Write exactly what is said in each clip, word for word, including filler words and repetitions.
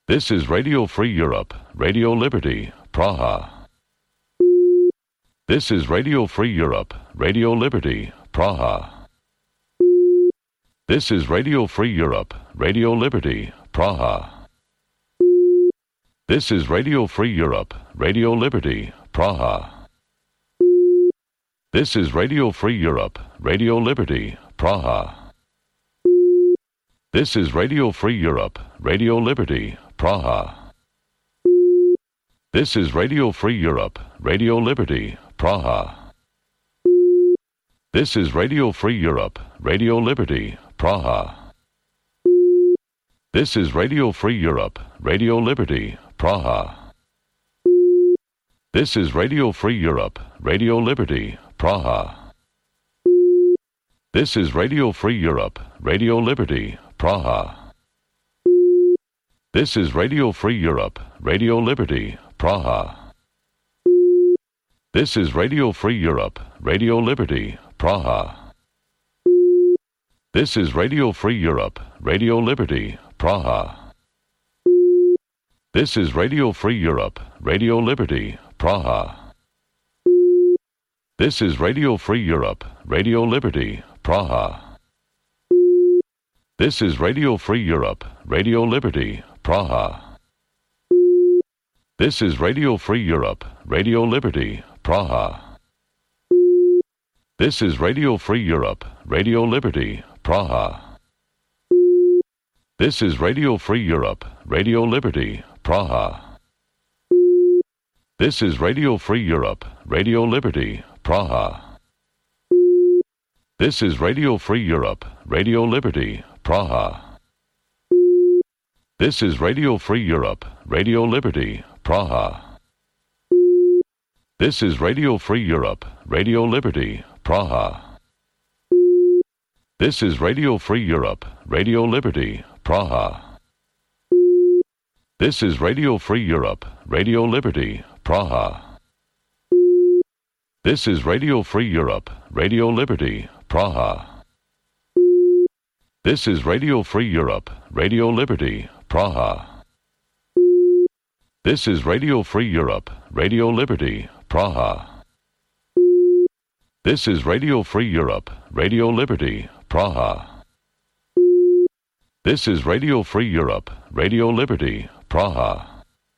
This is Radio Free Europe, Radio Liberty, Praha. This is Radio Free Europe, Radio Liberty, Praha. This is Radio Free Europe, Radio Liberty, Praha. This is Radio Free Europe, Radio Liberty, Praha. This is Radio Free Europe, Radio Liberty, Praha. This is Radio Free Europe, Radio Liberty, Praha. This is Radio Free Europe, Radio Liberty, Praha. This is Radio Free Europe, Radio Liberty, Praha. This is Radio Free Europe, Radio Liberty, Praha. This is Radio Free Europe, Radio Liberty, Praha. This is Radio Free Europe, Radio Liberty, Praha. This is Radio Free Europe, Radio Liberty, Praha. This is Radio Free Europe, Radio Liberty, Praha. This is Radio Free Europe, Radio Liberty, Praha. This is Radio Free Europe, Radio Liberty, Praha. This is Radio Free Europe, Radio Liberty, Praha. This is Radio Free Europe, Radio Liberty, Praha. This is Radio Free Europe, Radio Liberty, Praha. This is Radio Free Europe, Radio Liberty, Praha. This is Radio Free Europe, Radio Liberty, Praha. This is Radio Free Europe, Radio Liberty, Praha. This is Radio Free Europe, Radio Liberty, Praha. This is Radio Free Europe, Radio Liberty, Praha. This is Radio Free Europe, Radio Liberty, Praha. This is Radio Free Europe, Radio Liberty, Praha. This is Radio Free Europe, Radio Liberty, Praha. This is Radio Free Europe, Radio Liberty, Praha. This is Radio Free Europe, Radio Liberty, Praha. This is Radio Free Europe, Radio Liberty, Praha. This is Radio Free Europe, Radio Liberty, Praha. This is Radio Free Europe, Radio Liberty, Praha.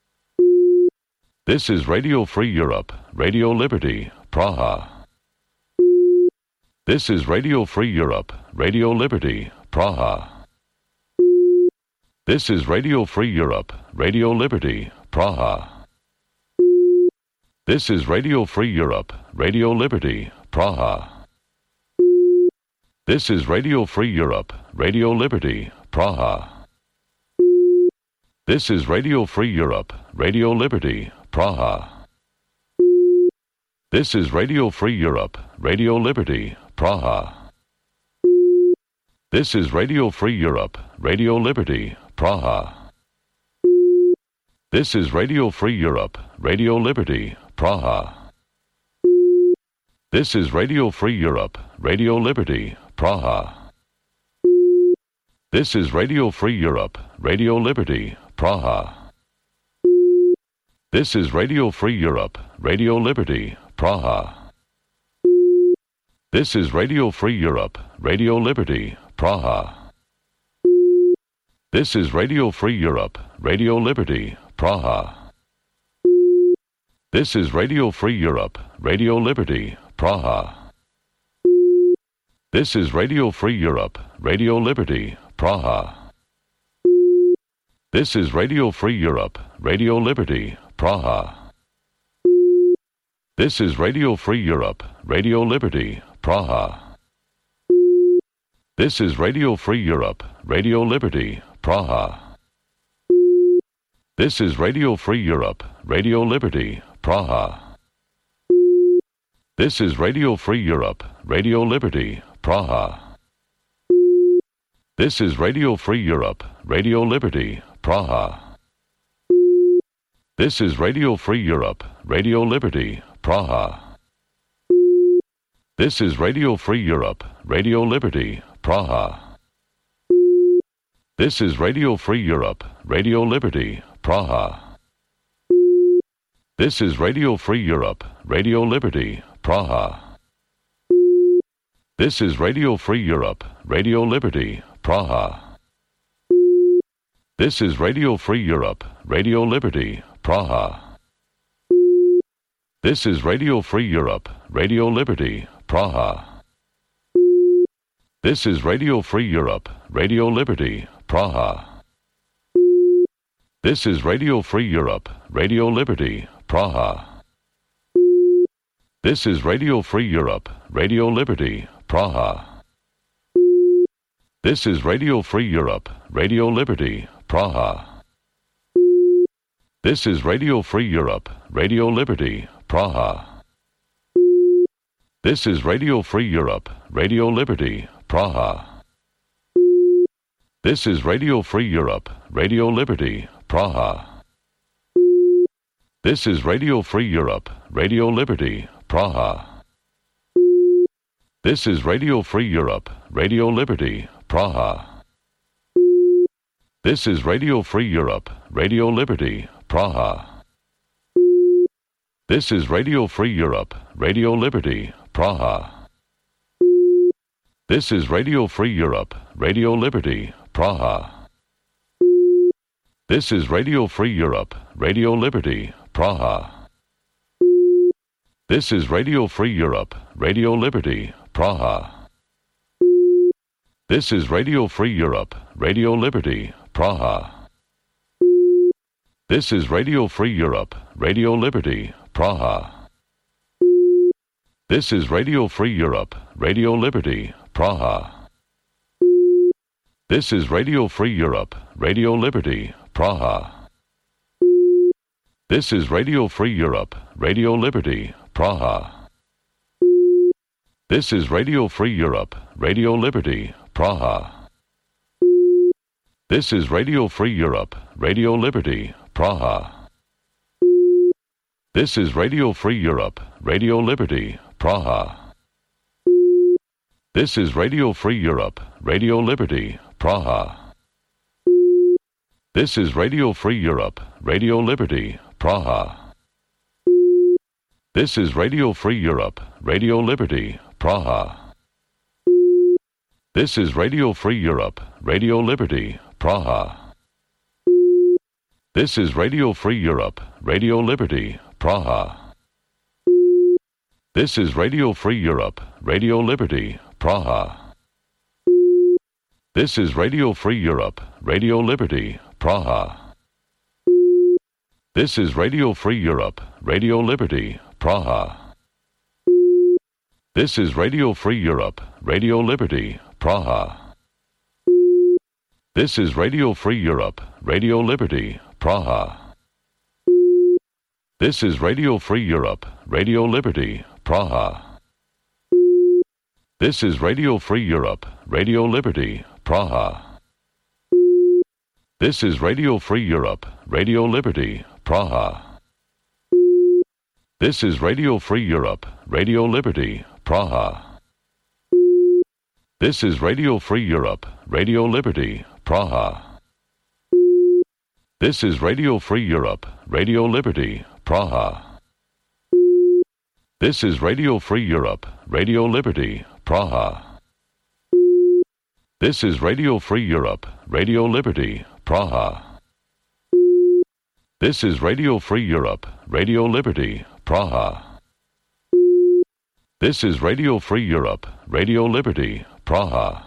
This is Radio Free Europe, Radio Liberty, Praha. This is Radio Free Europe, Radio Liberty, Praha. This is Radio Free Europe, Radio Liberty, Praha. This is Radio Free Europe, Radio Liberty, Praha. This is Radio Free Europe, Radio Liberty, Praha. This is Radio Free Europe, Radio Liberty, Praha. This is Radio Free Europe, Radio Liberty, Praha. This is Radio Free Europe, Radio Liberty, Praha. This is Radio Free Europe, Radio Liberty, Praha. This is Radio Free Europe, Radio Liberty, Praha. This is Radio Free Europe, Radio Liberty, Praha. This is Radio Free Europe, Radio Liberty, Praha. This is Radio Free Europe, Radio Liberty, Praha. This is Radio Free Europe, Radio Liberty, Praha. This is Radio Free Europe, Radio Liberty, Praha. This is Radio Free Europe, Radio Liberty, Praha. This is Radio Free Europe, Radio Liberty, Praha. This is Radio Free Europe, Radio Liberty, Praha. This is Radio Free Europe, Radio Liberty, Praha. This is Radio Free Europe, Radio Liberty, Praha. This is Radio Free Europe, Radio Liberty, Praha. This is Radio Free Europe, Radio Liberty, Praha. This is Radio Free Europe, Radio Liberty, Praha. This is Radio Free Europe, Radio Liberty, Praha. This is Radio Free Europe, Radio Liberty, Praha. This is Radio Free Europe, Radio Liberty, Praha. This is Radio Free Europe, Radio Liberty, Praha. This is Radio Free Europe, Radio Liberty, Praha. This is Radio Free Europe, Radio Liberty, Praha. This is Radio Free Europe, Radio Liberty, Praha. This is Radio Free Europe, Radio Liberty, Praha. This is Radio Free Europe, Radio Liberty, Praha. This is Radio Free Europe, Radio Liberty, Praha. This is Radio Free Europe, Radio Liberty, Praha. This is Radio Free Europe, Radio Liberty, Praha. This is Radio Free Europe, Radio Liberty, Praha. This is Radio Free Europe, Radio Liberty, Praha. This is Radio Free Europe, Radio Liberty, Praha. This is Radio Free Europe, Radio Liberty, Praha. This is Radio Free Europe, Radio Liberty, Praha. This is Radio Free Europe, Radio Liberty, Praha. This is Radio Free Europe, Radio Liberty, Praha. This is Radio Free Europe, Radio Liberty, Praha. This is Radio Free Europe, Radio Liberty, Praha. This is Radio Free Europe, Radio Liberty, Praha. This is Radio Free Europe, Radio Liberty, Praha. This is Radio Free Europe, Radio Liberty, Praha. This is Radio Free Europe, Radio Liberty, Praha. This is Radio Free Europe, Radio Liberty, Praha. This is Radio Free Europe, Radio Liberty, Praha. This is Radio Free Europe, Radio Liberty, Praha. This is Radio Free Europe, Radio Liberty, Praha. This is Radio Free Europe, Radio Liberty, Praha. This is Radio Free Europe, Radio Liberty, Praha. This is Radio Free Europe, Radio Liberty, Praha. This is Radio Free Europe, Radio Liberty, Praha. This is Radio Free Europe, Radio Liberty, Praha. This is Radio Free Europe, Radio Liberty, Praha. This is Radio Free Europe, Radio Liberty, Praha. This is Radio Free Europe, Radio Liberty, Praha. This is Radio Free Europe, Radio Liberty, Praha. This is Radio Free Europe, Radio Liberty, Praha. This is Radio Free Europe, Radio Liberty, Praha. This is Radio Free Europe, Radio Liberty, Praha. This is Radio Free Europe, Radio Liberty, Praha. This is Radio Free Europe, Radio Liberty, Praha. This is Radio Free Europe, Radio Liberty, Praha. This is Radio Free Europe, Radio Liberty, Praha. This is Radio Free Europe, Radio Liberty, Praha. This is Radio Free Europe, Radio Liberty, Praha. This is Radio Free Europe, Radio Liberty, Praha.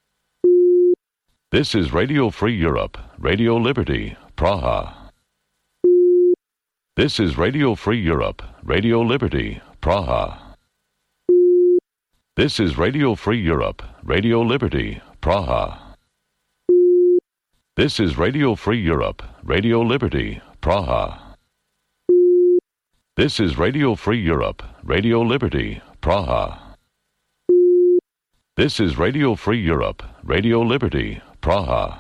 This is Radio Free Europe, Radio Liberty, Praha. This is Radio Free Europe, Radio Liberty, Praha. This is Radio Free Europe, Radio Liberty, Praha. This is Radio Free Europe, Radio Liberty, Praha. This is Radio Free Europe, Radio Liberty, Praha. This is Radio Free Europe, Radio Liberty, Praha.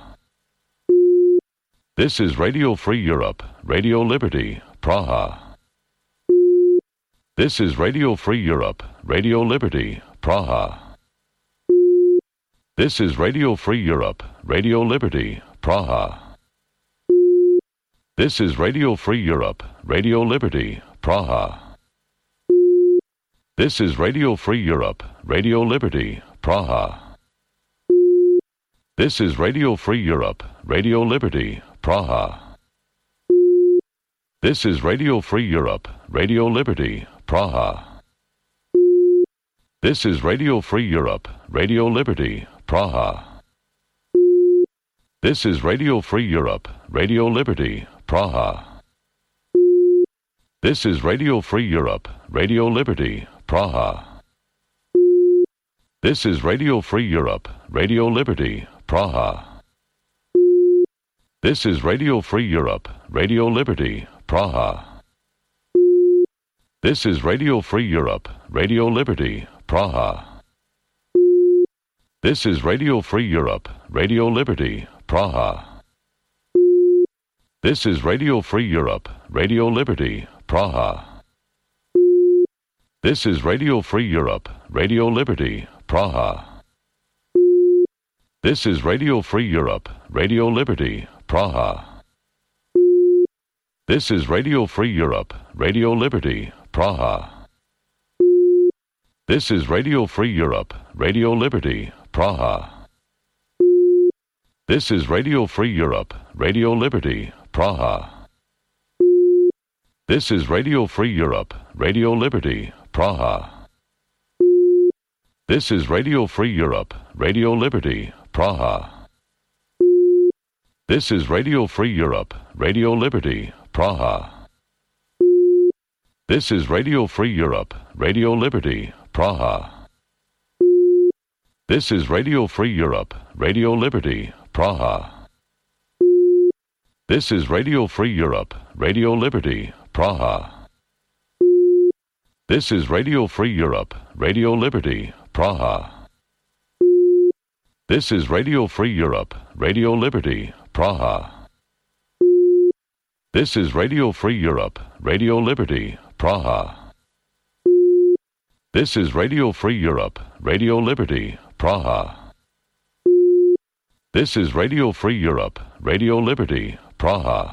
This is Radio Free Europe, Radio Liberty, Praha. This is Radio Free Europe, Radio Liberty, Praha. This is Radio Free Europe, Radio Liberty, Praha. This is Radio Free Europe, Radio Liberty, Praha. This is Radio Free Europe, Radio Liberty, Praha. This is Radio Free Europe, Radio Liberty, Praha. This is Radio Free Europe, Radio Liberty, Praha. This is Radio Free Europe, Radio Liberty, Praha. This is Radio Free Europe, Radio Liberty, Praha. This is Radio Free Europe, Radio Liberty, Praha. This is Radio Free Europe, Radio Liberty, Praha. This is Radio Free Europe, Radio Liberty, Praha. This is Radio Free Europe, Radio Liberty, Praha. This is Radio Free Europe, Radio Liberty, Praha. This is Radio Free Europe, Radio Liberty, Praha. This is Radio Free Europe, Radio Liberty, Praha. This is Radio Free Europe, Radio Liberty, Praha. This is Radio Free Europe, Radio Liberty, Praha. This is Radio Free Europe, Radio Liberty, Praha. This is Radio Free Europe, Radio Liberty, Praha. This is Radio Free Europe, Radio Liberty, Praha. This is Radio Free Europe, Radio Liberty, Praha. This is Radio Free Europe, Radio Liberty, Praha. This is Radio Free Europe, Radio Liberty, Praha. This is Radio Free Europe, Radio Liberty, Praha. This is Radio Free Europe, Radio Liberty, Praha. This is Radio Free Europe, Radio Liberty, Praha. This is Radio Free Europe, Radio Liberty, Praha. This is Radio Free Europe, Radio Liberty, Praha. This is Radio Free Europe, Radio Liberty, Praha. This is Radio Free Europe, Radio Liberty, Praha.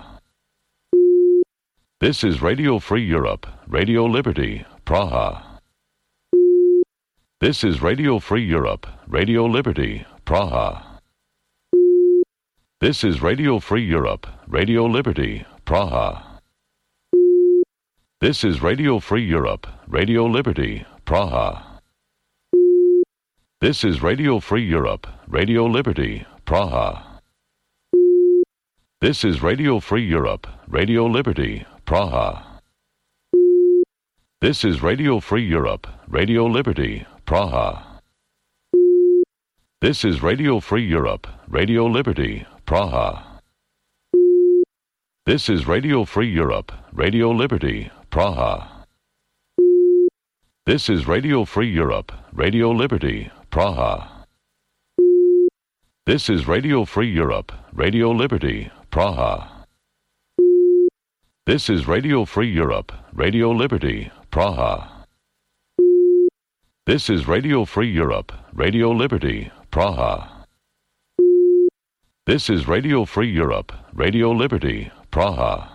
This is Radio Free Europe, Radio Liberty, Praha. This is Radio Free Europe, Radio Liberty, Praha. This is Radio Free Europe, Radio Liberty, Praha. This is Radio Free Europe, Radio Liberty, Praha. This is Radio Free Europe, Radio Liberty, Praha. This is Radio Free Europe, Radio Liberty, Praha. This is Radio Free Europe, Radio Liberty, Praha. This is Radio Free Europe, Radio Liberty, Praha. This is Radio Free Europe, Radio Liberty, Praha. This is Radio Free Europe, Radio Liberty, Praha. This is Radio Free Europe, Radio Liberty, Praha. This is Radio Free Europe, Radio Liberty, Praha. This is Radio Free Europe, Radio Liberty, Praha. This is Radio Free Europe, Radio Liberty, Praha.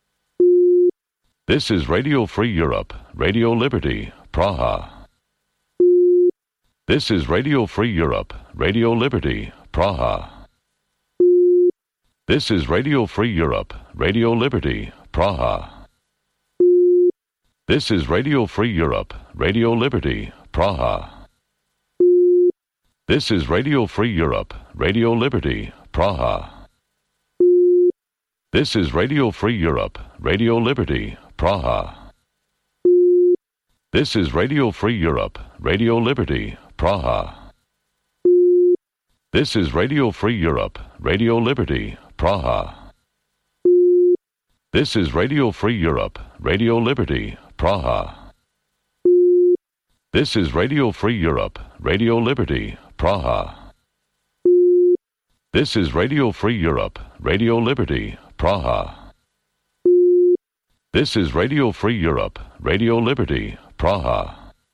This is Radio Free Europe, Radio Liberty, Praha. This is Radio Free Europe, Radio Liberty, Praha. This is Radio Free Europe, Radio Liberty, Praha. This is Radio Free Europe, Radio Liberty, Praha. This is Radio Free Europe, Radio Liberty, Praha. This is Radio Free Europe, Radio Liberty, Praha. This is Radio Free Europe, Radio Liberty, Praha. This is Radio Free Europe, Radio Liberty, Praha. This is Radio Free Europe, Radio Liberty, Praha. This is Radio Free Europe, Radio Liberty, Praha. This is Radio Free Europe, Radio Liberty, Praha. This is Radio Free Europe, Radio Liberty, Praha.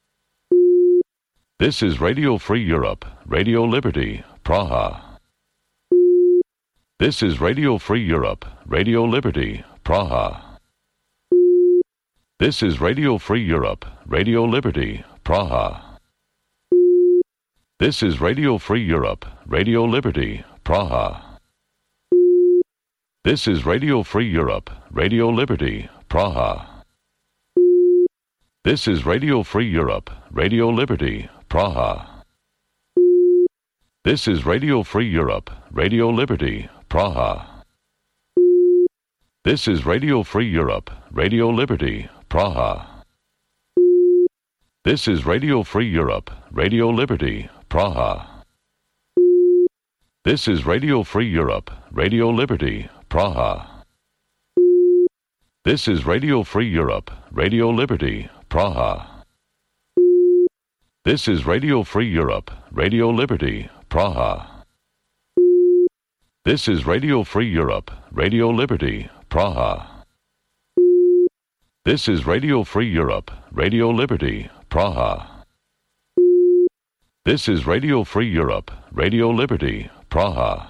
This is Radio Free Europe, Radio Liberty, Praha. This is Radio Free Europe, Radio Liberty, Praha. This is Radio Free Europe, Radio Liberty, Praha. This is Radio Free Europe, Radio Liberty, Praha. This is Radio Free Europe, Radio Liberty, Praha. This is Radio Free Europe, Radio Liberty, Praha. This is Radio Free Europe, Radio Liberty, Praha. This is Radio Free Europe, Radio Liberty, Praha. This is Radio Free Europe, Radio Liberty, Praha. This is Radio Free Europe, Radio Liberty, Praha. This is Radio Free Europe, Radio Liberty, Praha. This is Radio Free Europe, Radio Liberty, Praha. This is Radio Free Europe, Radio Liberty, Praha. This is Radio Free Europe, Radio Liberty, Praha. This is Radio Free Europe, Radio Liberty, Praha.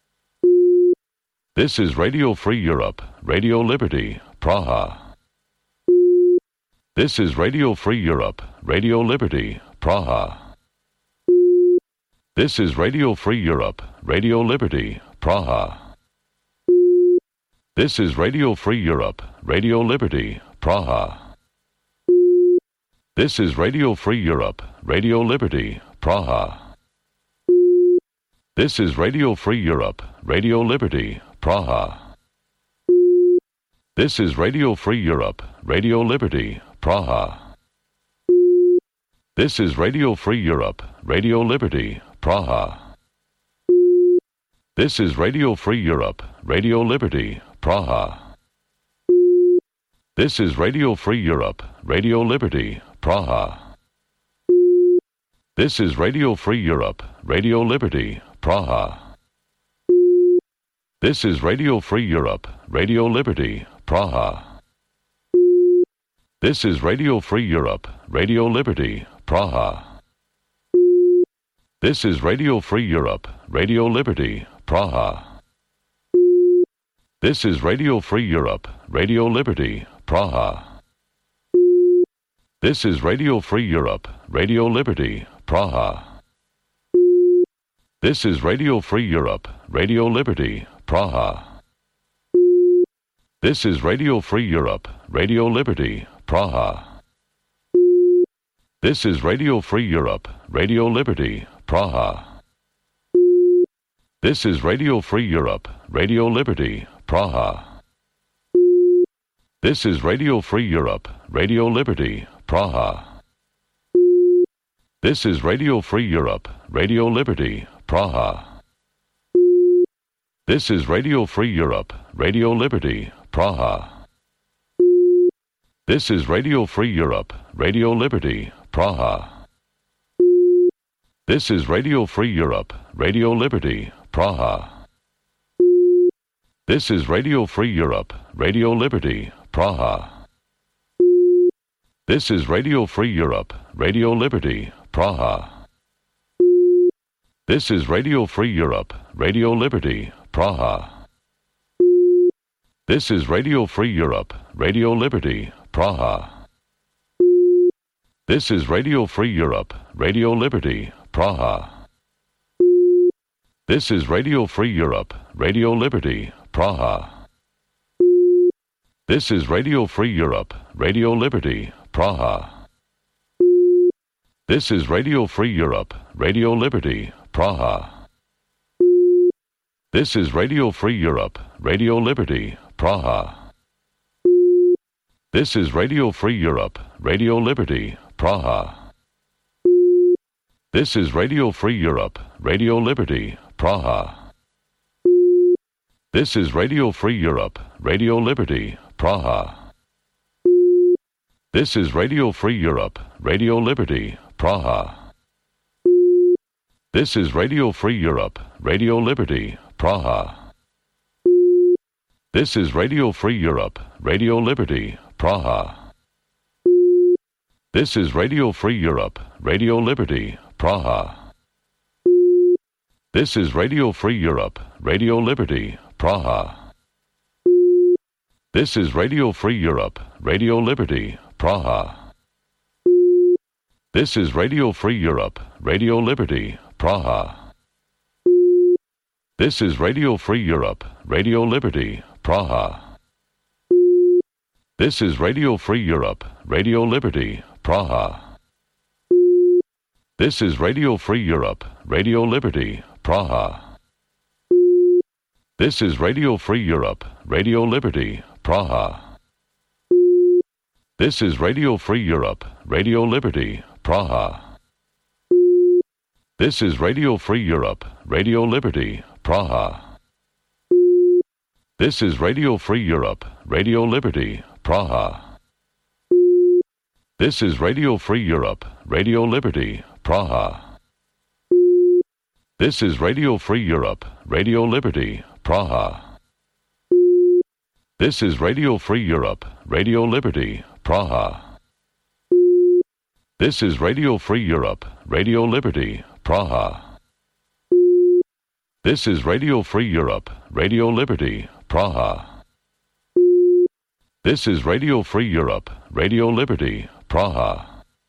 This is Radio Free Europe, Radio Liberty, Praha. This is Radio Free Europe, Radio Liberty, Praha. This is Radio Free Europe, Radio Liberty, Praha. This is Radio Free Europe, Radio Liberty, Praha. This is Radio Free Europe, Radio Liberty, Praha. This is Radio Free Europe, Radio Liberty, Praha. This is Radio Free Europe, Radio Liberty, Praha. This is Radio Free Europe, Radio Liberty, Praha. This is Radio Free Europe, Radio Liberty, Praha. This is Radio Free Europe, Radio Liberty, Praha. This is Radio Free Europe, Radio Liberty, Praha. This is Radio Free Europe, Radio Liberty, Praha. This is Radio Free Europe, Radio Liberty, Praha. This is Radio Free Europe, Radio Liberty, Praha. This is Radio Free Europe, Radio Liberty, Praha. This is Radio Free Europe, Radio Liberty, Praha. This is Radio Free Europe, Radio Liberty, Praha. This is Radio Free Europe, Radio Liberty, Praha. This is Radio Free Europe, Radio Liberty, Praha. This is Radio Free Europe, Radio Liberty, Praha. This is Radio Free Europe, Radio Liberty, Praha. This is Radio Free Europe, Radio Liberty, Praha. This is Radio Free Europe, Radio Liberty, Praha. This is Radio Free Europe, Radio Liberty, Praha. This is Radio Free Europe, Radio Liberty, Praha. This is Radio Free Europe, Radio Liberty, Praha. This is Radio Free Europe, Radio Liberty, Praha. This is Radio Free Europe, Radio Liberty, Praha. This is Radio Free Europe, Radio Liberty, Praha. This is Radio Free Europe, Radio Liberty, Praha. This is Radio Free Europe, Radio Liberty, Praha. This is Radio Free Europe, Radio Liberty, Praha. This is Radio Free Europe, Radio Liberty, Praha. This is Radio Free Europe, Radio Liberty, Praha. This is Radio Free Europe, Radio Liberty, Praha. This is Radio Free Europe, Radio Liberty, Praha. This is Radio Free Europe, Radio Liberty, Praha. This is Radio Free Europe, Radio Liberty, Praha. This is Radio Free Europe, Radio Liberty, Praha. This is Radio Free Europe, Radio Liberty, Praha. This is Radio Free Europe, Radio Liberty, Praha. This is Radio Free Europe, Radio Liberty, Praha. This is Radio Free Europe, Radio Liberty, Praha. This is Radio Free Europe, Radio Liberty, Praha. This is Radio Free Europe, Radio Liberty, Praha. This is Radio Free Europe, Radio Liberty, Praha. This is Radio Free Europe, Radio Liberty, Praha. This is Radio Free Europe, Radio Liberty, Praha. This is Radio Free Europe, Radio Liberty, Praha. This is Radio Free Europe, Radio Liberty, Praha. This is Radio Free Europe, Radio Liberty, Praha. This is Radio Free Europe, Radio Liberty, Praha. This is Radio Free Europe, Radio Liberty, Praha. This is Radio Free Europe, Radio Liberty, Praha. This is Radio Free Europe, Radio Liberty, Praha. This is Radio Free Europe, Radio Liberty, Praha. This is Radio Free Europe, Radio Liberty, Praha.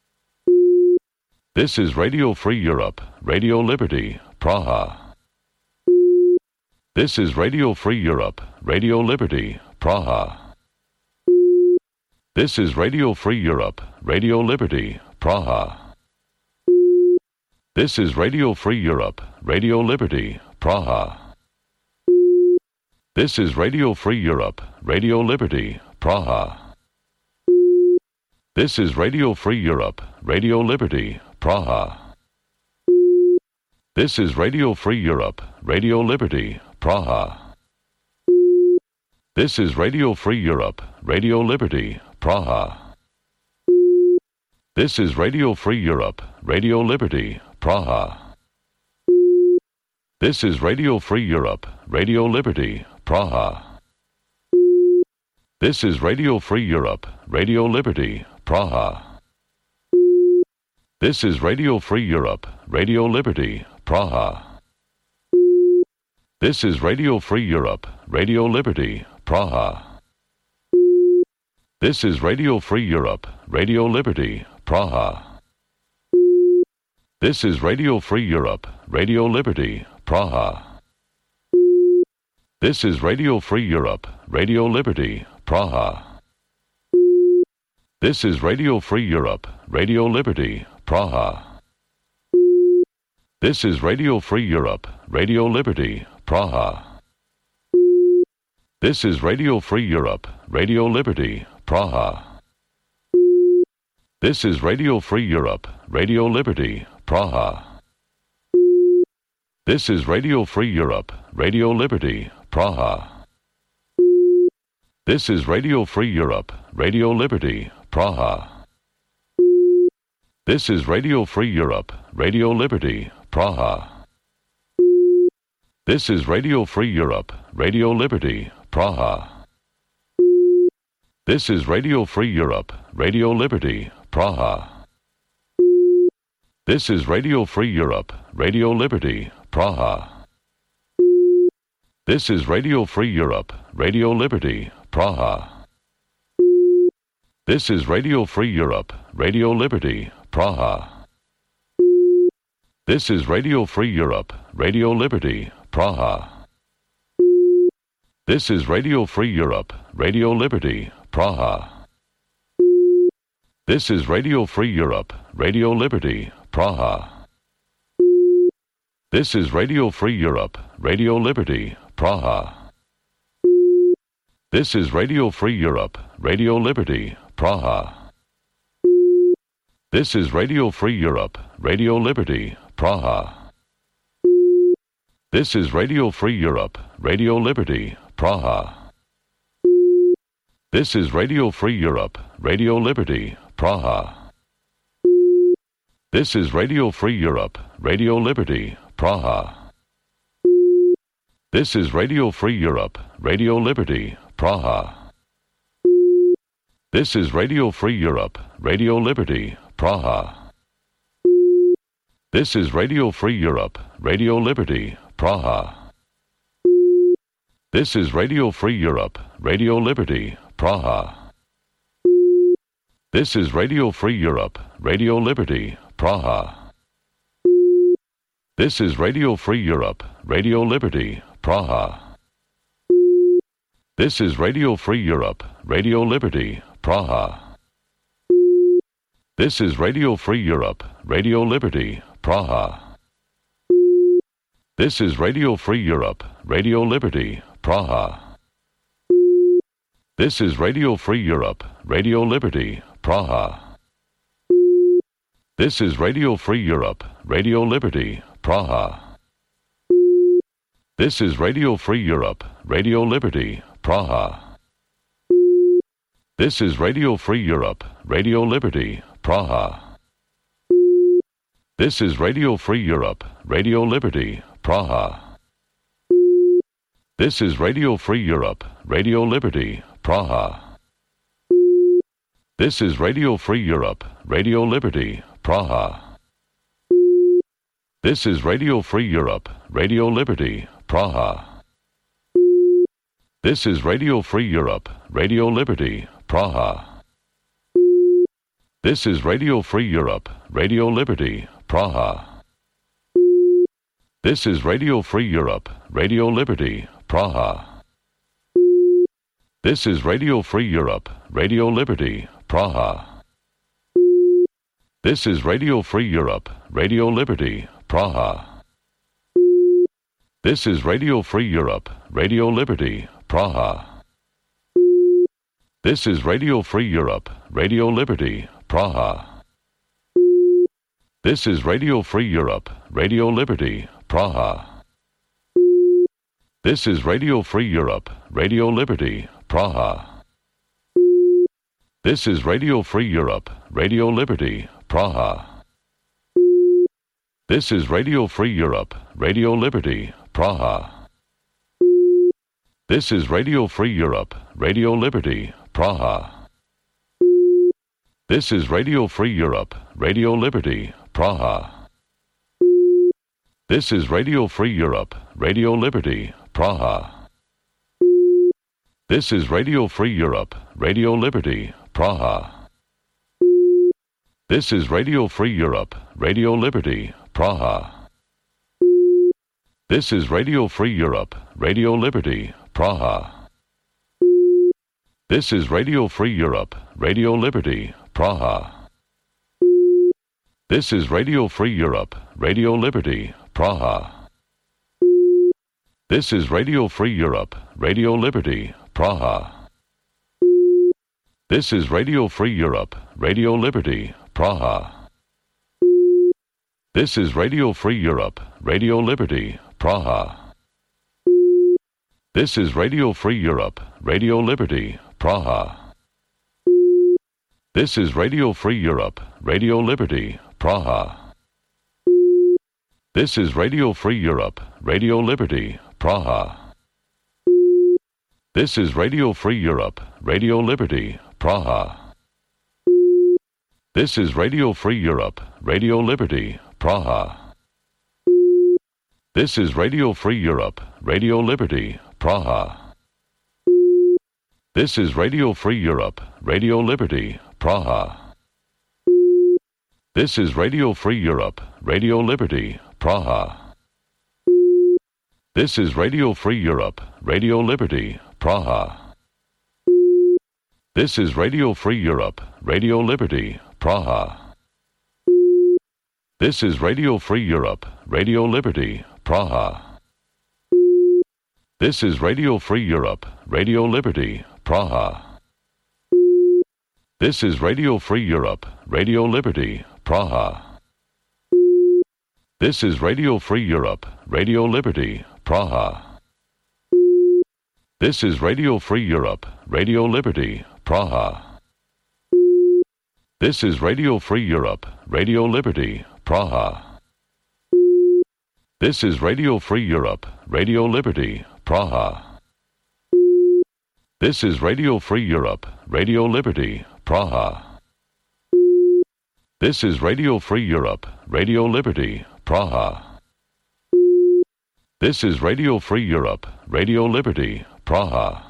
This is Radio Free Europe, Radio Liberty, Praha. This is Radio Free Europe, Radio Liberty, Praha. This is Radio Free Europe, Radio Liberty, Praha. This is Radio Free Europe, Radio Liberty, Praha. This is Radio Free Europe, Radio Liberty, Praha. This is Radio Free Europe, Radio Liberty, Praha. This is Radio Free Europe, Radio Liberty, Praha. This is Radio Free Europe, Radio Liberty, Praha. This is Radio Free Europe, Radio Liberty, Praha. This is Radio Free Europe, Radio Liberty, Praha. This is Radio Free Europe, Radio Liberty, Praha. This is Radio Free Europe, Radio Liberty, Praha. This is Radio Free Europe, Radio Liberty, Praha. This is Radio Free Europe, Radio Liberty, Praha. This is Radio Free Europe, Radio Liberty, Praha. This is Radio Free Europe, Radio Liberty, Praha. This is Radio Free Europe, Radio Liberty, Praha. This is Radio Free Europe, Radio Liberty, Praha. This is Radio Free Europe, Radio Liberty, Praha. This is Radio Free Europe, Radio Liberty, Praha. This is Radio Free Europe, Radio Liberty, Praha. This is Radio Free Europe, Radio Liberty, Praha. This is Radio Free Europe, Radio Liberty, Praha. This is Radio Free Europe, Radio Liberty, Praha. This is Radio Free Europe, Radio Liberty, Praha. This is Radio Free Europe, Radio Liberty, Praha. This is Radio Free Europe, Radio Liberty, Praha. This is Radio Free Europe, Radio Liberty, Praha. This is Radio Free Europe, Radio Liberty, Praha. This is Radio Free Europe, Radio Liberty, Praha. This is Radio Free Europe, Radio Liberty, Praha. This is Radio Free Europe, Radio Liberty, Praha. This is Radio Free Europe, Radio Liberty, Praha. This is Radio Free Europe, Radio Liberty, Praha. This is Radio Free Europe, Radio Liberty, Praha. This is Radio Free Europe, Radio Liberty, Praha. This is Radio Free Europe, Radio Liberty, Praha. This is Radio Free Europe, Radio Liberty, Praha. This is Radio Free Europe, Radio Liberty, Praha. This is Radio Free Europe, Radio Liberty, Praha. This is Radio Free Europe, Radio Liberty, Praha. This is Radio Free Europe, Radio Liberty, Praha. This is Radio Free Europe, Radio Liberty, Praha. This is Radio Free Europe, Radio Liberty, Praha. This is Radio Free Europe, Radio Liberty, Praha. This is Radio Free Europe, Radio Liberty, Praha. This is Radio Free Europe, Radio Liberty, Praha. This is Radio Free Europe, Radio Liberty, Praha. This is Radio Free Europe, Radio Liberty, Praha. This is Radio Free Europe, Radio Liberty, Praha. This is Radio Free Europe, Radio Liberty, Praha. This is Radio Free Europe, Radio Liberty, Praha. This is Radio Free Europe, Radio Liberty, Praha. This is Radio Free Europe, Radio Liberty, Praha. This is Radio Free Europe, Radio Liberty, Praha. This is Radio Free Europe, Radio Liberty, Praha. This is Radio Free Europe, Radio Liberty, Praha. This is Radio Free Europe, Radio Liberty, Praha. This is Radio Free Europe, Radio Liberty, Praha. This is Radio Free Europe, Radio Liberty, Praha. This is Radio Free Europe, Radio Liberty, Praha. This is Radio Free Europe, Radio Liberty, Praha. This is Radio Free Europe, Radio Liberty, Praha. This is Radio Free Europe, Radio Liberty, Praha. This is Radio Free Europe, Radio Liberty, Praha. This is Radio Free Europe, Radio Liberty, Praha. This is Radio Free Europe, Radio Liberty, Praha. This is Radio Free Europe, Radio Liberty, Praha. This is Radio Free Europe, Radio Liberty, Praha. This is Radio Free Europe, Radio Liberty, Praha. This is Radio Free Europe, Radio Liberty, Praha. This is Radio Free Europe, Radio Liberty, Praha. This is Radio Free Europe, Radio Liberty, Praha. This is Radio Free Europe, Radio Liberty, Praha. This is Radio Free Europe, Radio Liberty, Praha. This is Radio Free Europe, Radio Liberty, Praha. This is Radio Free Europe, Radio Liberty, Praha. This is Radio Free Europe, Radio Liberty, Praha. This is Radio Free Europe, Radio Liberty, Praha. This is Radio Free Europe, Radio Liberty, Praha. This is Radio Free Europe, Radio Liberty, Praha. This is Radio Free Europe, Radio Liberty, Praha. This is Radio Free Europe, Radio Liberty, Praha. This is Radio Free Europe, Radio Liberty, Praha. This is Radio Free Europe, Radio Liberty, Praha. This is Radio Free Europe, Radio Liberty, Praha. This is Radio Free Europe, Radio Liberty, Praha. This is Radio Free Europe, Radio Liberty, Praha. This is Radio Free Europe, Radio Liberty, Praha. This is Radio Free Europe, Radio Liberty, Praha. This is Radio Free Europe, Radio Liberty, Praha. This is Radio Free Europe, Radio Liberty, Praha. This is Radio Free Europe, Radio Liberty, Praha. This is Radio Free Europe, Radio Liberty, Praha. This is Radio Free Europe, Radio Liberty, Praha. This is Radio Free Europe, Radio Liberty, Praha.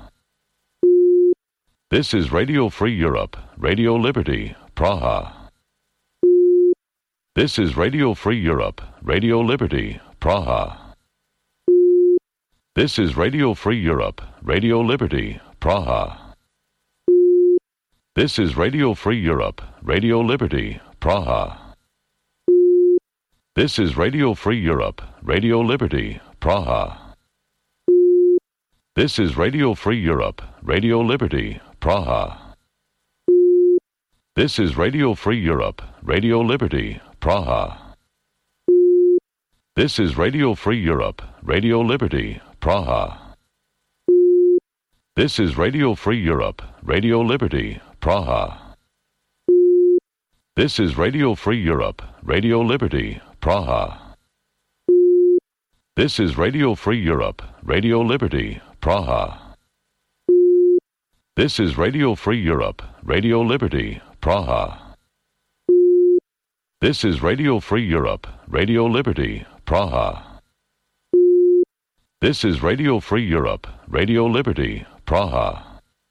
This is Radio Free Europe, Radio Liberty, Praha. This is Radio Free Europe, Radio Liberty, Praha. This is Radio Free Europe, Radio Liberty, Praha. This is Radio Free Europe, Radio Liberty, Praha. This is Radio Free Europe, Radio Liberty, Praha. This is Radio Free Europe, Radio Liberty, Praha. This is Radio Free Europe, Radio Liberty, Praha. This is Radio Free Europe, Radio Liberty, Praha. This is Radio Free Europe, Radio Liberty, Praha. This is Radio Free Europe, Radio Liberty, Praha. This is Radio Free Europe, Radio Liberty, Praha. This is Radio Free Europe, Radio Liberty, Praha. This is Radio Free Europe, Radio Liberty, Praha. This is Radio Free Europe, Radio Liberty, Praha.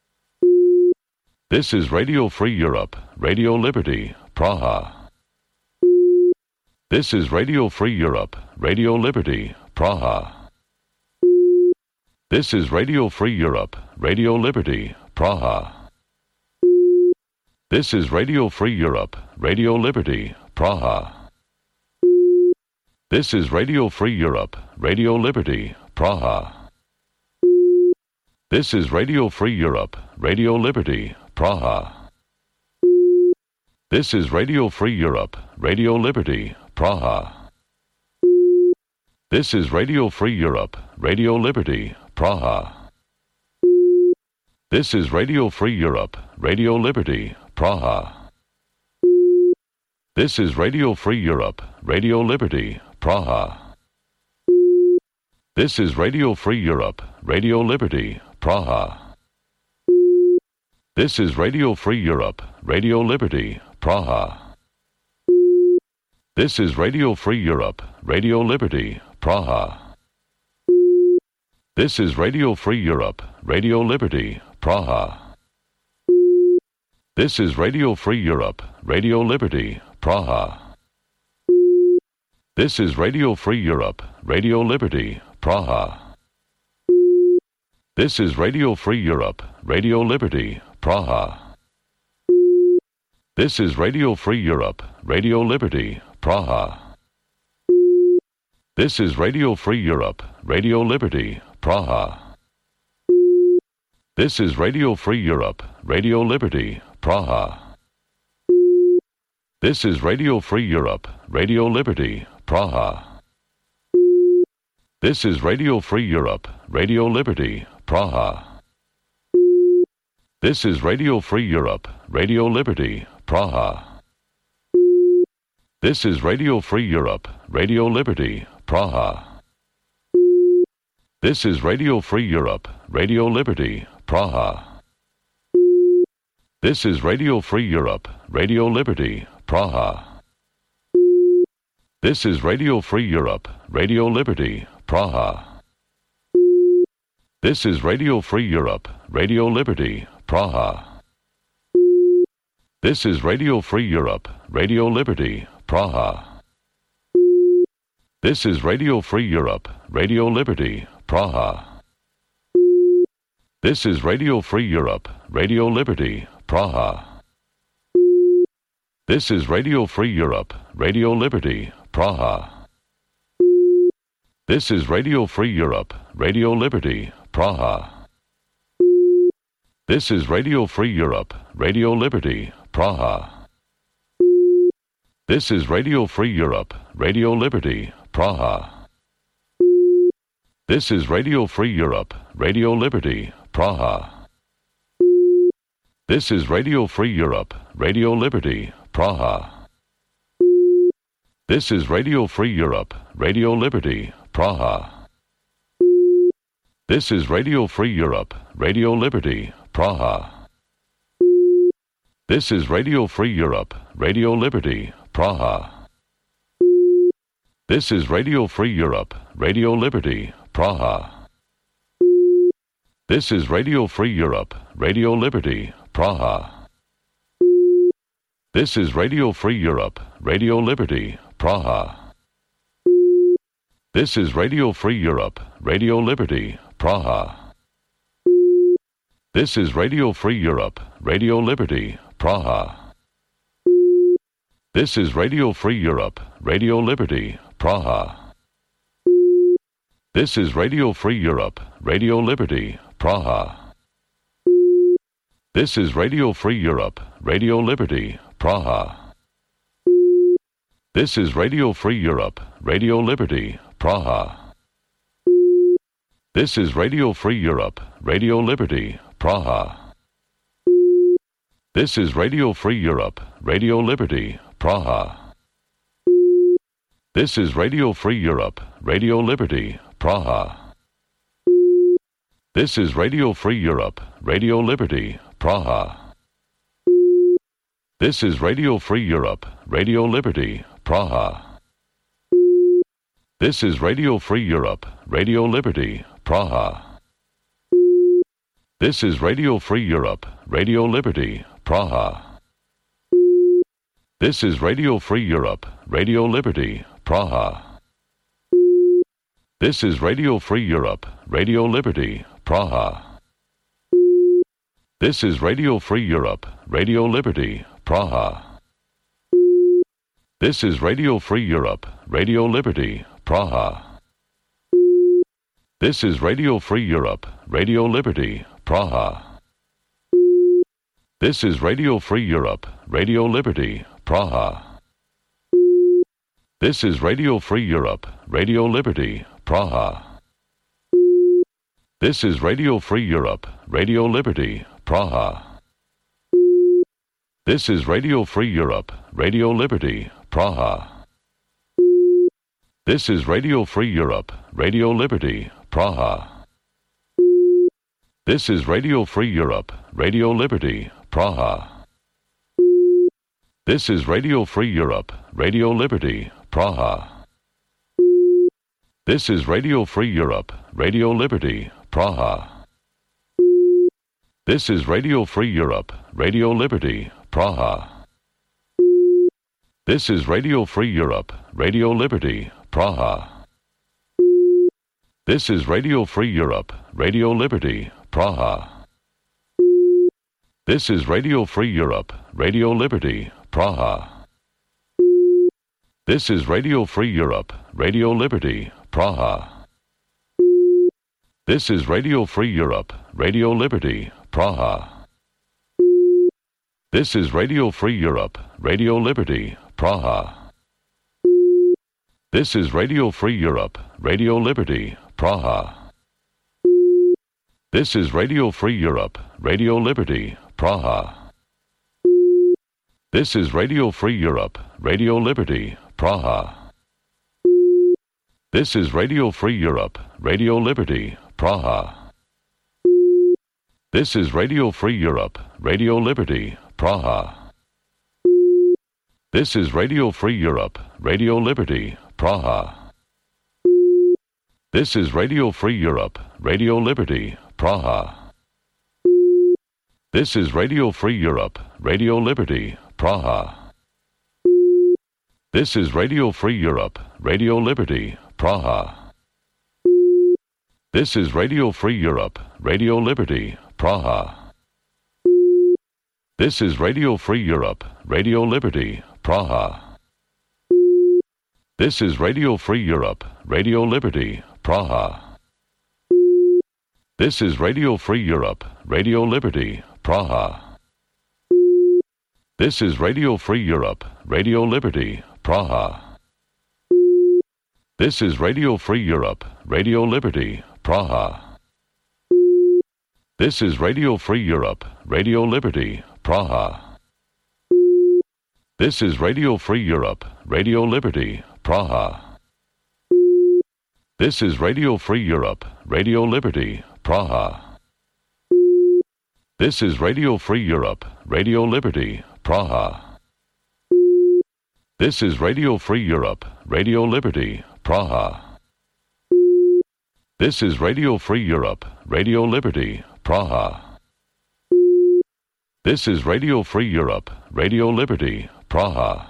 This is Radio Free Europe, Radio Liberty, Praha. This is Radio Free Europe, Radio Liberty, Praha. This is Radio Free Europe, Radio Liberty, Praha. This is Radio Free Europe, Radio Liberty, Praha. This is Radio Free Europe, Radio Liberty, Praha. This is Radio Free Europe, Radio Liberty, Praha. This is Radio Free Europe, Radio Liberty, Praha. This is Radio Free Europe, Radio Liberty, Praha. This is Radio Free Europe, Radio Liberty, Praha. This is Radio Free Europe, Radio Liberty, Praha. This is Radio Free Europe, Radio Liberty, Praha. This is Radio Free Europe, Radio Liberty, Praha. This is Radio Free Europe, Radio Liberty, Praha. This is Radio Free Europe, Radio Liberty, Praha. This is Radio Free Europe, Radio Liberty, Praha. This is Radio Free Europe, Radio Liberty, Praha. This is Radio Free Europe, Radio Liberty, Praha. This is Radio Free Europe, Radio Liberty, Praha. This is Radio Free Europe, Radio Liberty, Praha. This is Radio Free Europe, Radio Liberty, Praha. This is Radio Free Europe, Radio Liberty, Praha. This is Radio Free Europe, Radio Liberty, Praha. This is Radio Free Europe, Radio Liberty, Praha. This is Radio Free Europe, Radio Liberty, Praha. This is Radio Free Europe, Radio Liberty, Praha. This is Radio Free Europe, Radio Liberty, Praha. This is Radio Free Europe, Radio Liberty, Praha. This is Radio Free Europe, Radio Liberty, Praha. This is Radio Free Europe, Radio Liberty, Praha. This is Radio Free Europe, Radio Liberty, Praha. This is Radio Free Europe, Radio Liberty, Praha. This is Radio Free Europe, Radio Liberty, Praha. This is Radio Free Europe, Radio Liberty, Praha. This is Radio Free Europe, Radio Liberty, Praha. This is Radio Free Europe, Radio Liberty, Praha. This is Radio Free Europe, Radio Liberty, Praha. This is Radio Free Europe, Radio Liberty, Praha. This is Radio Free Europe, Radio Liberty, Praha. This is Radio Free Europe, Radio Liberty, Praha. This is Radio Free Europe, Radio Liberty, Praha. This is Radio Free Europe, Radio Liberty, Praha. This is Radio Free Europe, Radio Liberty, Praha. This is Radio Free Europe, Radio Liberty, Praha. This is Radio Free Europe, Radio Liberty, Praha. This is Radio Free Europe, Radio Liberty, Praha. This is Radio Free Europe, Radio Liberty, Praha. This is Radio Free Europe, Radio Liberty, Praha. This is Radio Free Europe, Radio Liberty, Praha. This is Radio Free Europe, Radio Liberty, Praha. This is Radio Free Europe, Radio Liberty, Praha. This is Radio Free Europe, Radio Liberty, Praha. This is Radio Free Europe, Radio Liberty, Praha. This is Radio Free Europe, Radio Liberty, Praha. This is Radio Free Europe, Radio Liberty, Praha. This is Radio Free Europe, Radio Liberty, Praha. This is Radio Free Europe, Radio Liberty, Praha. This is Radio Free Europe, Radio Liberty, Praha. This is Radio Free Europe, Radio Liberty, Praha. This is Radio Free Europe, Radio Liberty, Praha. This is Radio Free Europe, Radio Liberty, Praha. This is Radio Free Europe, Radio Liberty, Praha. This is Radio Free Europe, Radio Liberty, Praha. This is Radio Free Europe, Radio Liberty, Praha. This is Radio Free Europe, Radio Liberty, Praha. This is Radio Free Europe, Radio Liberty, Praha. This is Radio Free Europe, Radio Liberty, Praha. This is Radio Free Europe, Radio Liberty, Praha. This is Radio Free Europe, Radio Liberty, Praha. This is Radio Free Europe, Radio Liberty, Praha. This is Radio Free Europe, Radio Liberty, Praha. This is Radio Free Europe, Radio Liberty, Praha. This is Radio Free Europe, Radio Liberty, Praha. This is Radio Free Europe, Radio Liberty, Praha. This is Radio Free Europe, Radio Liberty, Praha. This is Radio Free Europe, Radio Liberty, Praha. This is Radio Free Europe, Radio Liberty, Praha. This is Radio Free Europe, Radio Liberty, Praha. This is Radio Free Europe, Radio Liberty, Praha. This is Radio Free Europe, Radio Liberty, Praha. This is Radio Free Europe, Radio Liberty, Praha. This is Radio Free Europe, Radio Liberty, Praha. This is Radio Free Europe, Radio Liberty, Praha. This is Radio Free Europe, Radio Liberty, Praha. This is Radio Free Europe, Radio Liberty, Praha. This is Radio Free Europe, Radio Liberty, Praha. This is Radio Free Europe, Radio Liberty, Praha. This is Radio Free Europe, Radio Liberty, Praha. This is Radio Free Europe, Radio Liberty, Praha. This is Radio Free Europe, Radio Liberty, Praha. This is Radio Free Europe, Radio Liberty, Praha. This is Radio Free Europe, Radio Liberty, Praha. This is Radio Free Europe, Radio Liberty, Praha. This is Radio Free Europe, Radio Liberty, Praha. This is Radio Free Europe, Radio Liberty, Praha. This is Radio Free Europe, Radio Liberty, Praha. This is Radio Free Europe, Radio Liberty, Praha. This is Radio Free Europe, Radio Liberty, Praha. This is Radio Free Europe, Radio Liberty, Praha.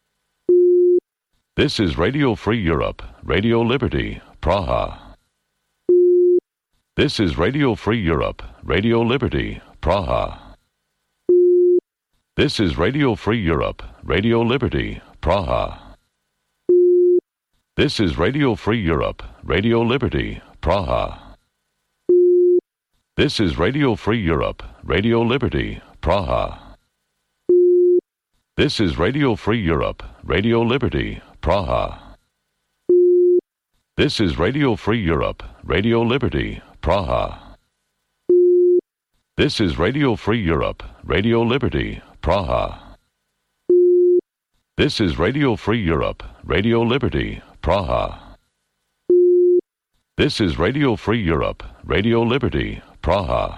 This is Radio Free Europe, Radio Liberty, Praha. This is Radio Free Europe, Radio Liberty, Praha. This is Radio Free Europe, Radio Liberty, Praha. This is Radio Free Europe, Radio Liberty, Praha. This is Radio Free Europe, Radio Liberty, Praha. This is Radio Free Europe, Radio Liberty, Praha. This is Radio Free Europe, Radio Liberty, Praha. This is Radio Free Europe, Radio Liberty, Praha. This is Radio Free Europe, Radio Liberty, Praha. This is Radio Free Europe, Radio Liberty, Praha.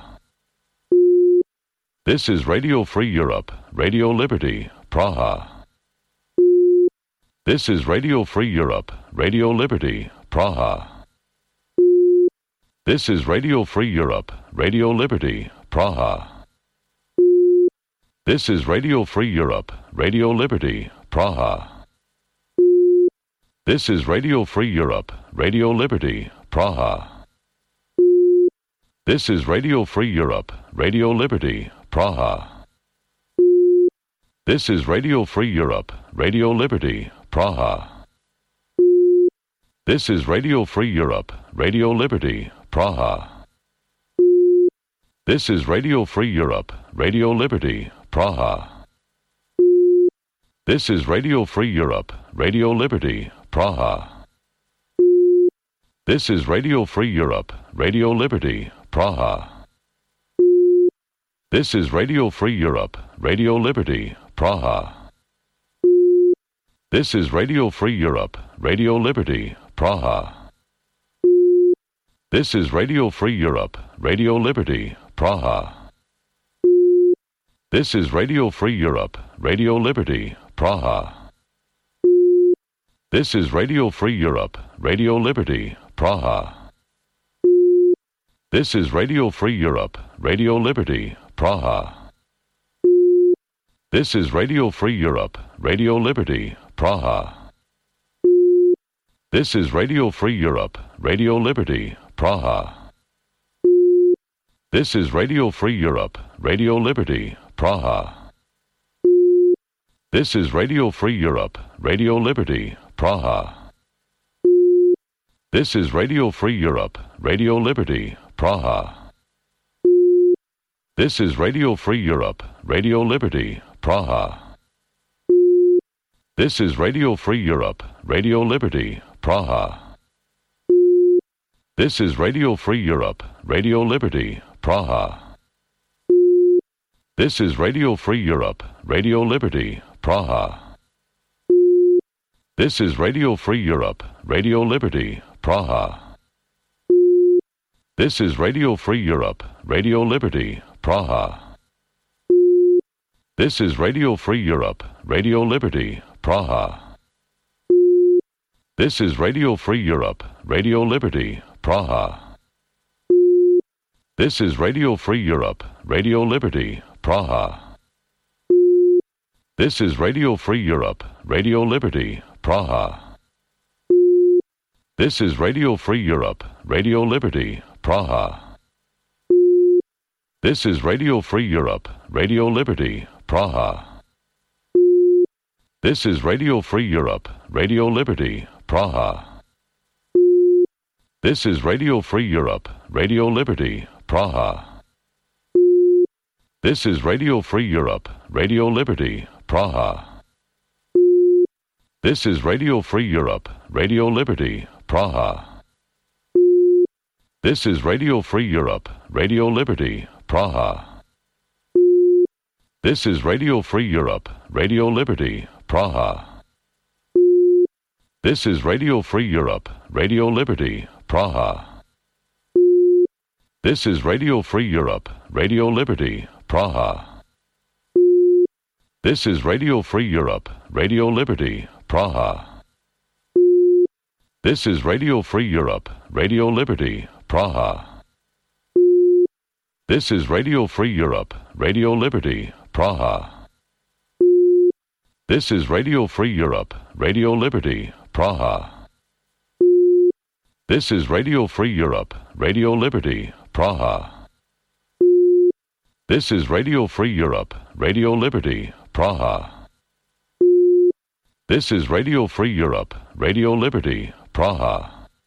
This is Radio Free Europe, Radio Liberty, Praha. This is Radio Free Europe, Radio Liberty, Praha. This is Radio Free Europe, Radio Liberty, Praha. This is Radio Free Europe, Radio Liberty, Praha. This is Radio Free Europe, Radio Liberty, Praha. This is Radio Free Europe, Radio Liberty, Praha. This is Radio Free Europe, Radio Liberty, Praha. This is Radio Free Europe, Radio Liberty, Praha. This is Radio Free Europe, Radio Liberty, Praha. This is Radio Free Europe, Radio Liberty, Praha. This is Radio Free Europe, Radio Liberty, Praha. This is Radio Free Europe, Radio Liberty, Praha. This is Radio Free Europe, Radio Liberty, Praha. This is Radio Free Europe, Radio Liberty, Praha. This is Radio Free Europe, Radio Liberty, Praha. This is Radio Free Europe, Radio Liberty, Praha. This is Radio Free Europe, Radio Liberty, Praha. This is Radio Free Europe, Radio Liberty, Praha. This is Radio Free Europe, Radio Liberty, Praha. This is Radio Free Europe, Radio Liberty, Praha. This is Radio Free Europe, Radio Liberty, Praha. This is Radio Free Europe, Radio Liberty, Praha. This is Radio Free Europe, Radio Liberty, Praha. This is Radio Free Europe, Radio Liberty, Praha. This is Radio Free Europe, Radio Liberty, Praha. This is Radio Free Europe, Radio Liberty, Praha. This is Radio Free Europe, Radio Liberty, Praha. This is Radio Free Europe, Radio Liberty, Praha. This is Radio Free Europe, Radio Liberty, Praha. This is Radio Free Europe, Radio Liberty, Praha. This is Radio Free Europe, Radio Liberty, Praha. This is Radio Free Europe, Radio Liberty, Praha. This is Radio Free Europe, Radio Liberty, Praha. This is Radio Free Europe, Radio Liberty, Praha. This is Radio Free Europe, Radio Liberty, Praha. This is Radio Free Europe, Radio Liberty, Praha. This is Radio Free Europe, Radio Liberty, Praha. This is Radio Free Europe, Radio Liberty, Praha. This is Radio Free Europe, Radio Liberty, Praha. This is Radio Free Europe, Radio Liberty, Praha. This is Radio Free Europe, Radio Liberty, Praha. This is Radio Free Europe, Radio Liberty, Praha. This is Radio Free Europe, Radio Liberty, Praha. This is Radio Free Europe, Radio Liberty, Praha. This is Radio Free Europe, Radio Liberty, Praha. This is Radio Free Europe, Radio Liberty, Praha. This is Radio Free Europe, Radio Liberty, Praha. This is Radio Free Europe, Radio Liberty, Praha. This is Radio Free Europe, Radio Liberty, Praha.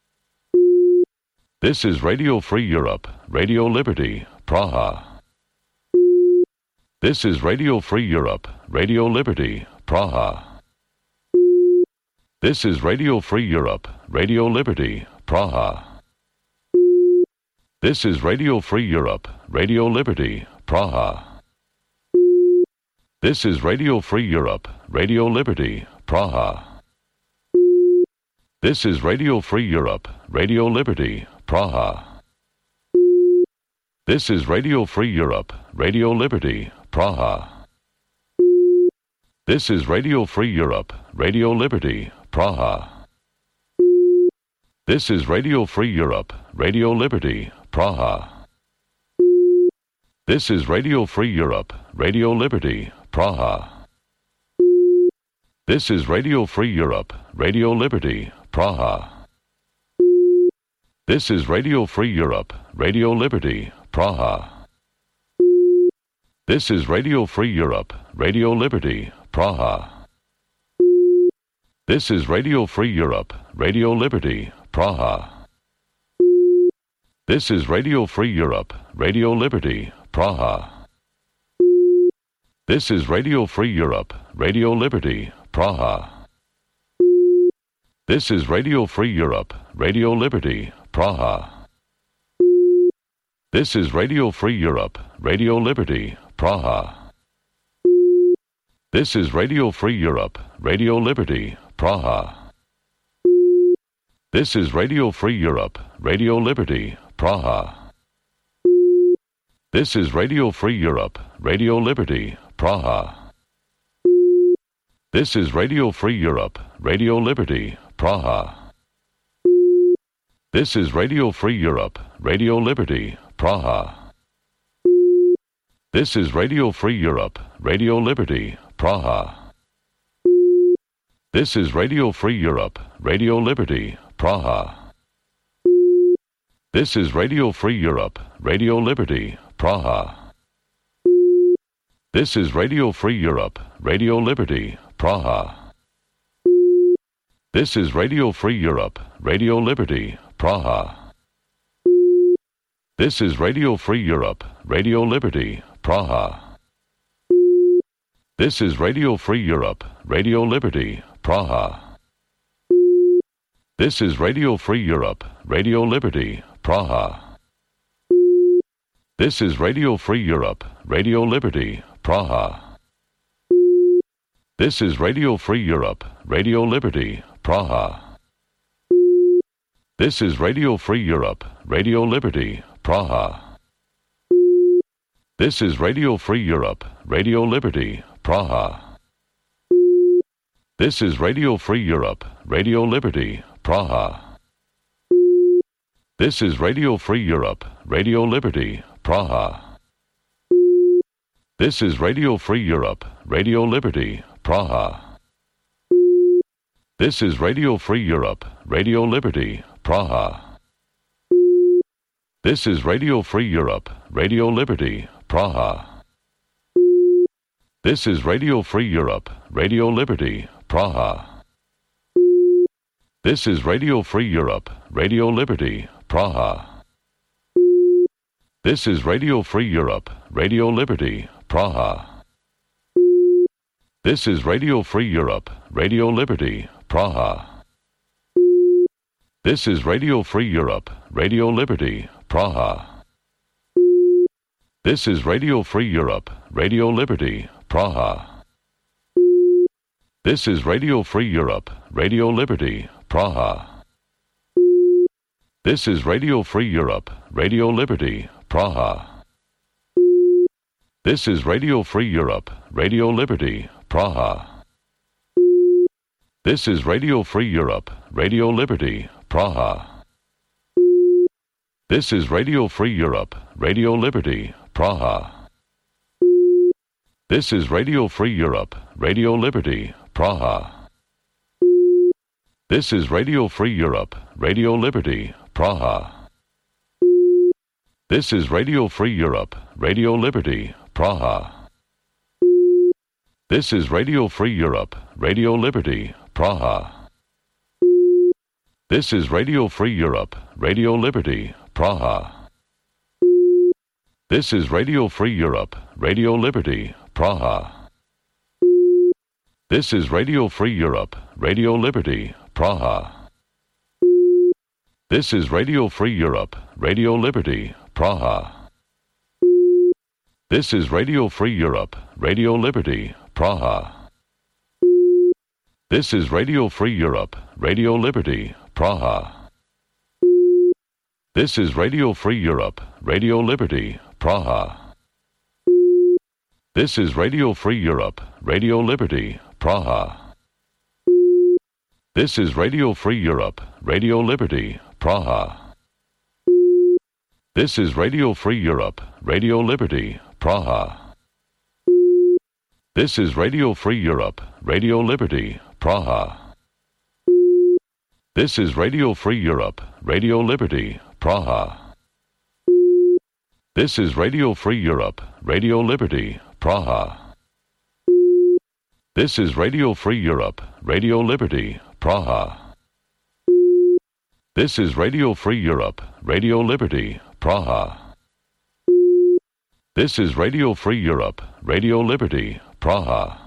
This is Radio Free Europe, Radio Liberty, Praha. This is Radio Free Europe, Radio Liberty, Praha. This is Radio Free Europe, Radio Liberty, Praha. This is Radio Free Europe, Radio Liberty, Praha. This is Radio Free Europe, Radio Liberty, Praha. This is Radio Free Europe, Radio Liberty, Praha. This is Radio Free Europe, Radio Liberty, Praha. This is Radio Free Europe, Radio Liberty, Praha. This is Radio Free Europe, Radio Liberty, Praha. This is Radio Free Europe, Radio Liberty, Praha. This is Radio Free Europe, Radio Liberty, Praha. This is Radio Free Europe, Radio Liberty, Praha. This is Radio Free Europe, Radio Liberty, Praha. This is Radio Free Europe, Radio Liberty, Praha. This is Radio Free Europe, Radio Liberty, Praha. This is Radio Free Europe, Radio Liberty, Praha. This is Radio Free Europe, Radio Liberty, Praha. This is Radio Free Europe, Radio Liberty, Praha. This is Radio Free Europe, Radio Liberty, Praha. This is Radio Free Europe, Radio Liberty, Praha. This is Radio Free Europe, Radio Liberty, Praha. This is Radio Free Europe, Radio Liberty, Praha. This is Radio Free Europe, Radio Liberty, Praha. This is Radio Free Europe, Radio Liberty, Praha. This is Radio Free Europe, Radio Liberty, Praha. This is Radio Free Europe, Radio Liberty, Praha. This is Radio Free Europe, Radio Liberty, Praha. This is Radio Free Europe, Radio Liberty, Praha. This is Radio Free Europe, Radio Liberty, Praha. This is Radio Free Europe, Radio Liberty, Praha. This is Radio Free Europe, Radio Liberty, Praha. This is Radio Free Europe, Radio Liberty, Praha. This is Radio Free Europe, Radio Liberty, Praha. This is Radio Free Europe, Radio Liberty, Praha. This is Radio Free Europe, Radio Liberty, Praha. This is Radio Free Europe, Radio Liberty, Praha. This is Radio Free Europe, Radio Liberty, Praha. This is Radio Free Europe, Radio Liberty, Praha. This is Radio Free Europe, Radio Liberty, Praha. This is Radio Free Europe, Radio Liberty, Praha. This is Radio Free Europe, Radio Liberty, Praha. This is Radio Free Europe, Radio Liberty, Praha. This is Radio Free Europe, Radio Liberty, Praha. This is Radio Free Europe, Radio Liberty, Praha. This is Radio Free Europe, Radio Liberty, Praha. This is Radio Free Europe, Radio Liberty, Praha. This is Radio Free Europe, Radio Liberty, Praha. This is Radio Free Europe, Radio Liberty, Praha. This is Radio Free Europe, Radio Liberty, Praha. This is Radio Free Europe, Radio Liberty, Praha. This is Radio Free Europe, Radio Liberty, Praha. This is Radio Free Europe, Radio Liberty, Praha. This is Radio Free Europe, Radio Liberty, Praha. This is Radio Free Europe, Radio Liberty, Praha. This is Radio Free Europe, Radio Liberty, Praha. This is Radio Free Europe, Radio Liberty, Praha. This is Radio Free Europe, Radio Liberty, Praha. This is Radio Free Europe, Radio Liberty, Praha. This is Radio Free Europe, Radio Liberty, Praha. This is Radio Free Europe, Radio Liberty, Praha. This is Radio Free Europe, Radio Liberty, Praha. This is Radio Free Europe, Radio Liberty, Praha. This is Radio Free Europe, Radio Liberty, Praha. This is Radio Free Europe, Radio Liberty, Praha. This is Radio Free Europe, Radio Liberty, Praha. This is Radio Free Europe, Radio Liberty, Praha. This is Radio Free Europe, Radio Liberty, Praha. This is Radio Free Europe, Radio Liberty, Praha. This is Radio Free Europe, Radio Liberty, Praha. This is Radio Free Europe, Radio Liberty, Praha. This is Radio Free Europe, Radio Liberty, Praha.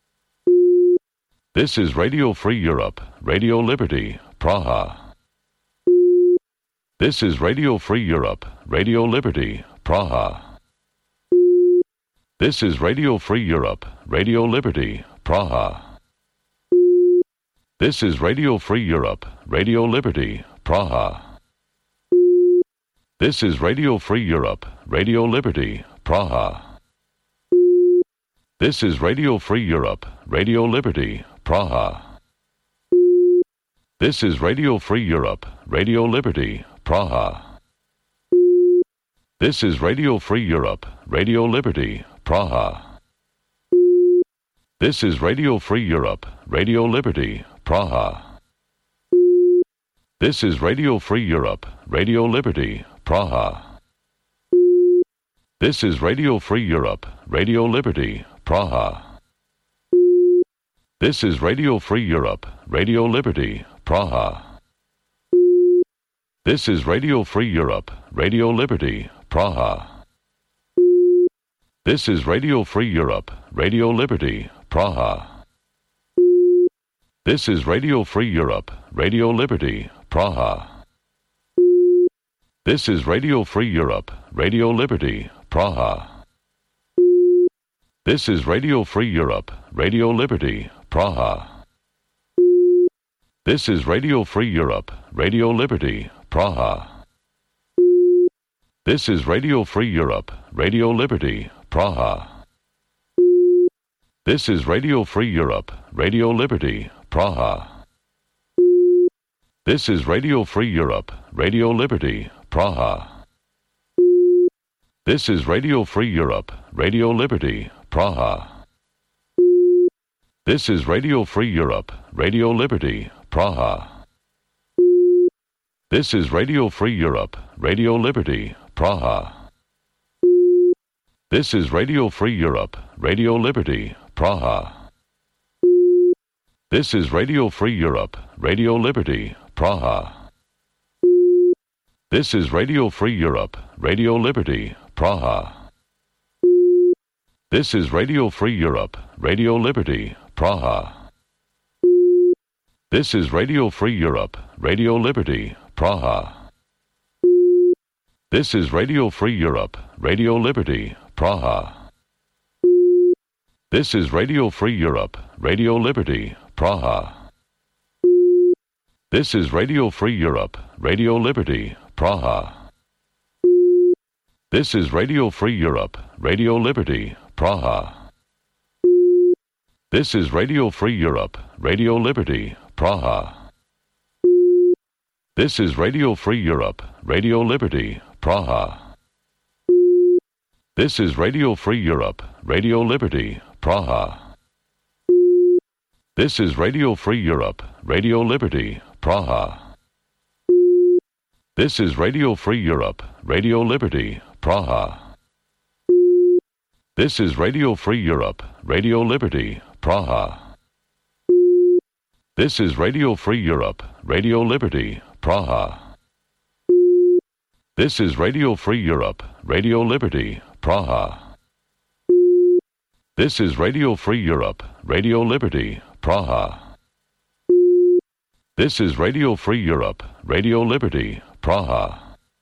This is Radio Free Europe, Radio Liberty, Praha. This is Radio Free Europe, Radio Liberty, Praha. This is Radio Free Europe, Radio Liberty, Praha. This is Radio Free Europe, Radio Liberty, Praha. This is Radio Free Europe, Radio Liberty, Praha. This is Radio Free Europe, Radio Liberty, Praha. This is Radio Free Europe, Radio Liberty, Praha. This is Radio Free Europe, Radio Liberty, Praha. This is Radio Free Europe, Radio Liberty, Praha. This is Radio Free Europe, Radio Liberty, Praha. This is Radio Free Europe, Radio Liberty, Praha. This is Radio Free Europe, Radio Liberty, Praha. This is Radio Free Europe, Radio Liberty, Praha. This is Radio Free Europe, Radio Liberty, Praha. This is Radio Free Europe, Radio Liberty, Praha. This is Radio Free Europe, Radio Liberty, Praha. This is Radio Free Europe, Radio Liberty, Praha. This is Radio Free Europe, Radio Liberty, Praha. This is Radio Free Europe, Radio Liberty, Praha. This is Radio Free Europe, Radio Liberty, Praha. This is Radio Free Europe, Radio Liberty, Praha. This is Radio Free Europe, Radio Liberty, Praha. This is Radio Free Europe, Radio Liberty, Praha. This is Radio Free Europe, Radio Liberty, Praha. This is Radio Free Europe, Radio Liberty, Praha. This is Radio Free Europe, Radio Liberty, Praha. This is Radio Free Europe, Radio Liberty, Praha. This is Radio Free Europe, Radio Liberty, Praha. This is Radio Free Europe, Radio Liberty, Praha. This is Radio Free Europe, Radio Liberty, Praha. This is Radio Free Europe, Radio Liberty, Praha. This is Radio Free Europe, Radio Liberty, Praha. This is Radio Free Europe, Radio Liberty, Praha. This is Radio Free Europe, Radio Liberty, Praha. This is Radio Free Europe, Radio Liberty, Praha. This is Radio Free Europe, Radio Liberty, Praha. This is Radio Free Europe, Radio Liberty, Praha. This is Radio Free Europe, Radio Liberty, Praha. This is Radio Free Europe, Radio Liberty, Praha. This is Radio Free Europe, Radio Liberty, Praha. This is Radio Free Europe, Radio Liberty, Praha. This is Radio Free Europe, Radio Liberty, Praha. This is Radio Free Europe, Radio Liberty, Praha.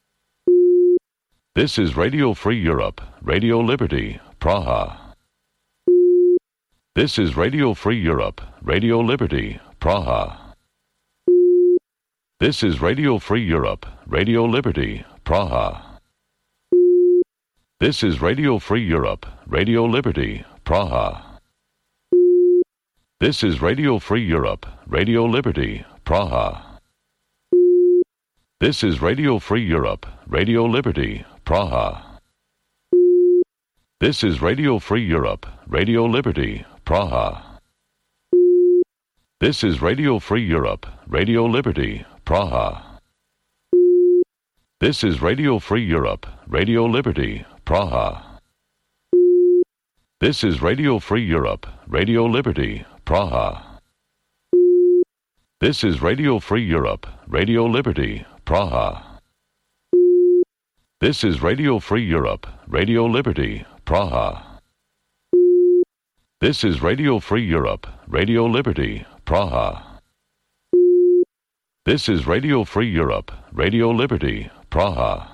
This is Radio Free Europe, Radio Liberty, Praha. This is Radio Free Europe, Radio Liberty, Praha. This is Radio Free Europe, Radio Liberty, Praha. This is Radio Free Europe, Radio Liberty, Praha. This is Radio Free Europe, Radio Liberty, Praha. This is Radio Free Europe, Radio Liberty, Praha. This is Radio Free Europe, Radio Liberty, Praha. This is Radio Free Europe, Radio Liberty, Praha. This is Radio Free Europe, Radio Liberty, Praha. This is Radio Free Europe, Radio Liberty, Praha. This is Radio Free Europe, Radio Liberty, Praha. This is Radio Free Europe, Radio Liberty, Praha. This is Radio Free Europe, Radio Liberty, Praha. This is Radio Free Europe, Radio Liberty, Praha.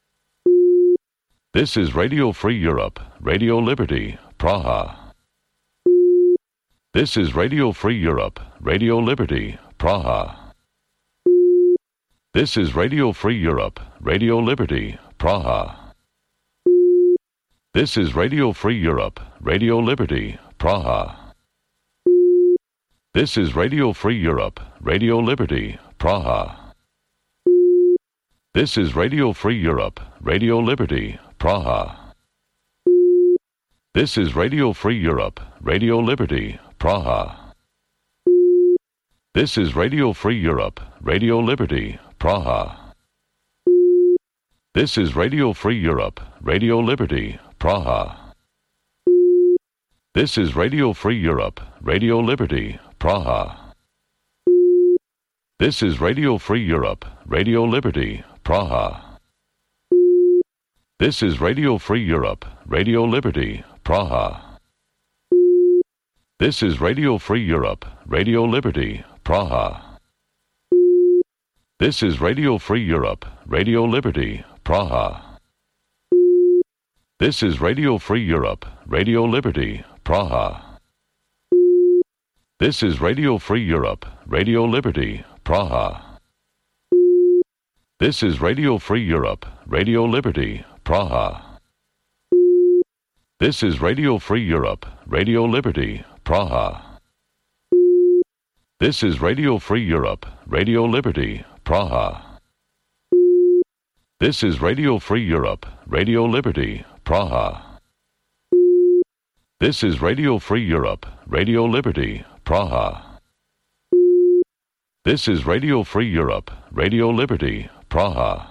This is Radio Free Europe, Radio Liberty, Praha. This is Radio Free Europe, Radio Liberty, Praha. This is Radio Free Europe, Radio Liberty, Praha. This is Radio Free Europe, Radio Liberty, Praha. This is Radio Free Europe, Radio Liberty, Praha. This is Radio Free Europe, Radio Liberty, Praha. This is Radio Free Europe, Radio Liberty, Praha. This is Radio Free Europe, Radio Liberty, Praha. This is Radio Free Europe, Radio Liberty, Praha. This is Radio Free Europe, Radio Liberty, Praha. This is Radio Free Europe, Radio Liberty, Praha. This is Radio Free Europe, Radio Liberty, Praha. This is Radio Free Europe, Radio Liberty, Praha. This is Radio Free Europe, Radio Liberty, Praha. This is Radio Free Europe, Radio Liberty, Praha. This is Radio Free Europe, Radio Liberty, Praha. This is Radio Free Europe, Radio Liberty, Praha. This is Radio Free Europe, Radio Liberty, Praha. This is Radio Free Europe, Radio Liberty, Praha. This is Radio Free Europe, Radio Liberty, Praha. This is Radio Free Europe, Radio Liberty, Praha. This is Radio Free Europe, Radio Liberty, Praha.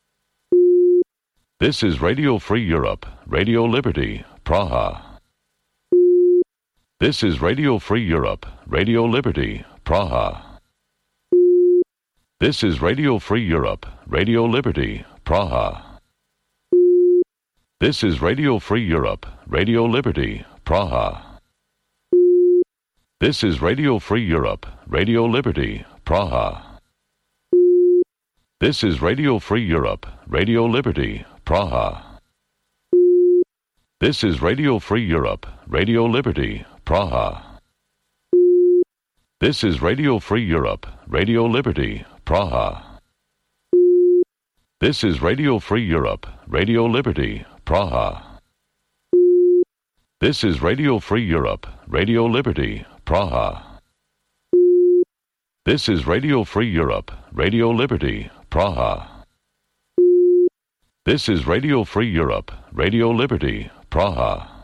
This is Radio Free Europe, Radio Liberty, Praha. This is Radio Free Europe, Radio Liberty, Praha. This is Radio Free Europe, Radio Liberty, Praha. This is Radio Free Europe, Radio Liberty, Praha. This is Radio Free Europe, Radio Liberty, Praha. This is Radio Free Europe, Radio Liberty, Praha. This is Radio Free Europe, Radio Liberty, Praha. This is Radio Free Europe, Radio Liberty, Praha. This is Radio Free Europe, Radio Liberty, Praha. This is Radio Free Europe, Radio Liberty, Praha. This is Radio Free Europe, Radio Liberty, Praha. This is Radio Free Europe, Radio Liberty, Praha.